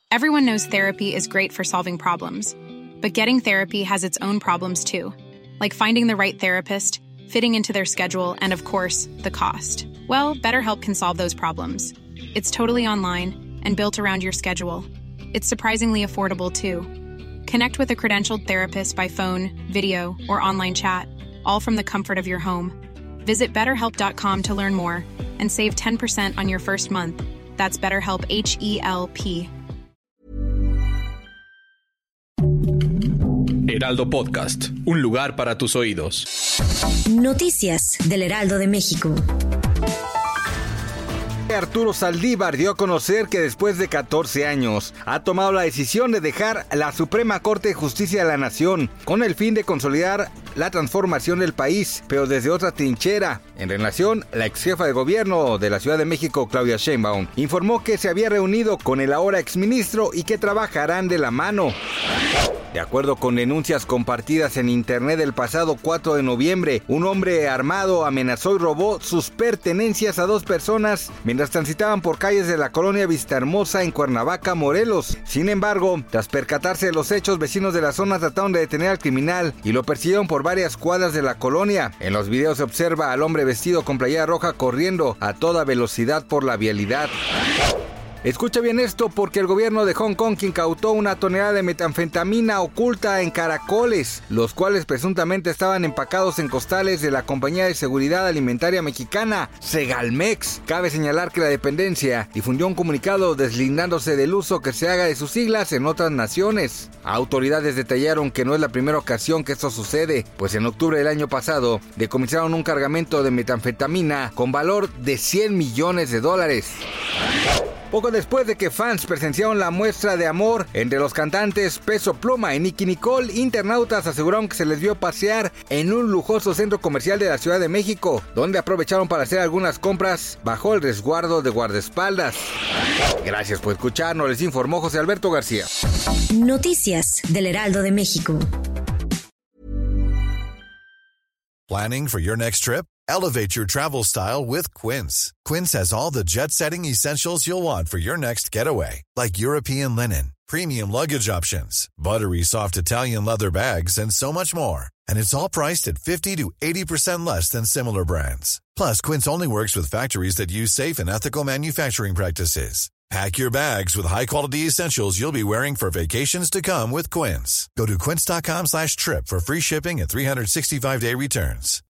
Everyone knows therapy is great for solving problems, but getting therapy has its own problems too, like finding the right therapist, fitting into their schedule, and of course, the cost. Well, BetterHelp can solve those problems. It's totally online and built around your schedule. It's surprisingly affordable too. Connect with a credentialed therapist by phone, video, or online chat, all from the comfort of your home. Visit BetterHelp.com to learn more and save 10% on your first month. That's BetterHelp, H-E-L-P. Heraldo Podcast, un lugar para tus oídos. Noticias del Heraldo de México. Arturo Saldívar dio a conocer que después de 14 años ha tomado la decisión de dejar la Suprema Corte de Justicia de la Nación con el fin de consolidar la transformación del país, pero desde otra trinchera. En relación, la ex jefa de gobierno de la Ciudad de México, Claudia Sheinbaum, informó que se había reunido con el ahora exministro y que trabajarán de la mano. De acuerdo con denuncias compartidas en internet el pasado 4 de noviembre, un hombre armado amenazó y robó sus pertenencias a 2 personas mientras transitaban por calles de la colonia Vistahermosa en Cuernavaca, Morelos. Sin embargo, tras percatarse de los hechos, vecinos de la zona trataron de detener al criminal y lo persiguieron por varias cuadras de la colonia. En los videos se observa al hombre vestido con playera roja corriendo a toda velocidad por la vialidad. Escucha bien esto, porque el gobierno de Hong Kong incautó 1 tonelada de metanfetamina oculta en caracoles, los cuales presuntamente estaban empacados en costales de la compañía de seguridad alimentaria mexicana, Segalmex. Cabe señalar que la dependencia difundió un comunicado deslindándose del uso que se haga de sus siglas en otras naciones. Autoridades detallaron que no es la primera ocasión que esto sucede, pues en octubre del año pasado decomisaron un cargamento de metanfetamina con valor de $100 millones. Poco después de que fans presenciaron la muestra de amor entre los cantantes Peso Pluma y Nicki Nicole, internautas aseguraron que se les vio pasear en un lujoso centro comercial de la Ciudad de México, donde aprovecharon para hacer algunas compras bajo el resguardo de guardaespaldas. Gracias por escucharnos, les informó José Alberto García. Noticias del Heraldo de México. Planning for your next trip? Elevate your travel style with Quince. Quince has all the jet-setting essentials you'll want for your next getaway, like European linen, premium luggage options, buttery soft Italian leather bags, and so much more. And it's all priced at 50 to 80% less than similar brands. Plus, Quince only works with factories that use safe and ethical manufacturing practices. Pack your bags with high-quality essentials you'll be wearing for vacations to come with Quince. Go to quince.com/trip for free shipping and 365-day returns.